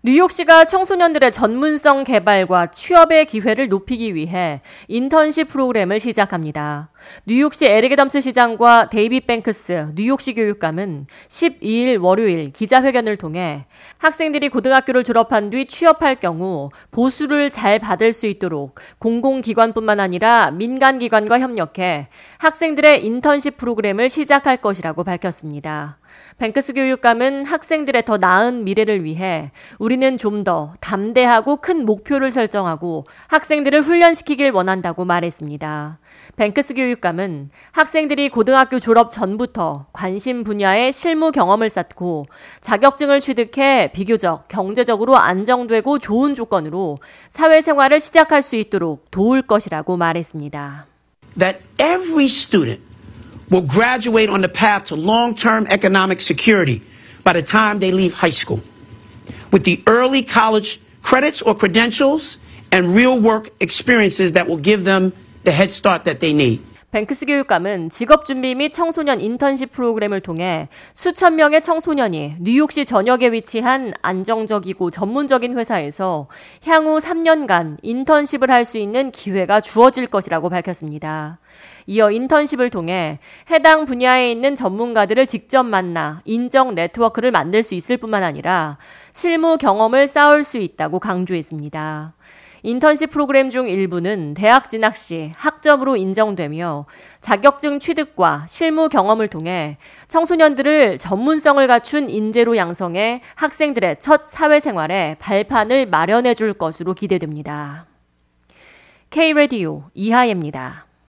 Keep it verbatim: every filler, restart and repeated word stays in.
뉴욕시가 청소년들의 전문성 개발과 취업의 기회를 높이기 위해 인턴십 프로그램을 시작합니다. 뉴욕시 에릭 애덤스 시장과 데이빗 뱅크스 뉴욕시 교육감은 십이일 월요일 기자회견을 통해 학생들이 고등학교를 졸업한 뒤 취업할 경우 보수를 잘 받을 수 있도록 공공기관뿐만 아니라 민간기관과 협력해 학생들의 인턴십 프로그램을 시작할 것이라고 밝혔습니다. 뱅크스 교육감은 학생들의 더 나은 미래를 위해 우리는 좀 더 담대하고 큰 목표를 설정하고 학생들을 훈련시키길 원한다고 말했습니다. 뱅크스 교육감은 학생들이 고등학교 졸업 전부터 관심 분야의 실무 경험을 쌓고 자격증을 취득해 비교적 경제적으로 안정되고 좋은 조건으로 사회생활을 시작할 수 있도록 도울 것이라고 말했습니다. That every student will graduate on the path to long-term economic security by the time they leave high school, with the early college credits or credentials and real work experiences that will give them the head start that they need. 뱅크스 교육감은 직업준비 및 청소년 인턴십 프로그램을 통해 수천 명의 청소년이 뉴욕시 전역에 위치한 안정적이고 전문적인 회사에서 향후 삼 년간 인턴십을 할 수 있는 기회가 주어질 것이라고 밝혔습니다. 이어 인턴십을 통해 해당 분야에 있는 전문가들을 직접 만나 인정 네트워크를 만들 수 있을 뿐만 아니라 실무 경험을 쌓을 수 있다고 강조했습니다. 인턴십 프로그램 중 일부는 대학 진학 시 학점으로 인정되며 자격증 취득과 실무 경험을 통해 청소년들을 전문성을 갖춘 인재로 양성해 학생들의 첫 사회생활에 발판을 마련해 줄 것으로 기대됩니다. K-라디오 이하예입니다.